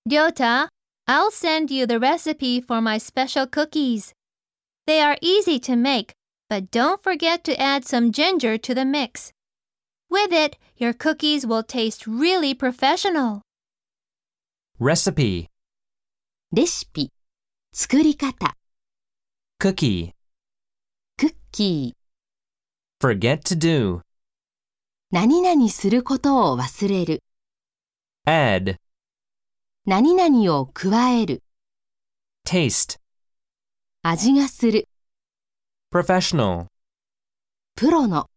Ryota, I'll send you the recipe for my special cookies. They are easy to make, but don't forget to add some ginger to the mix. With it, your cookies will taste really professional. Recipe, レシピ、作り方、 cookie, クッキー、 forget to do, 何々することを忘れる、 add, 何々を加える、 taste, 味がする、 professional. プロの。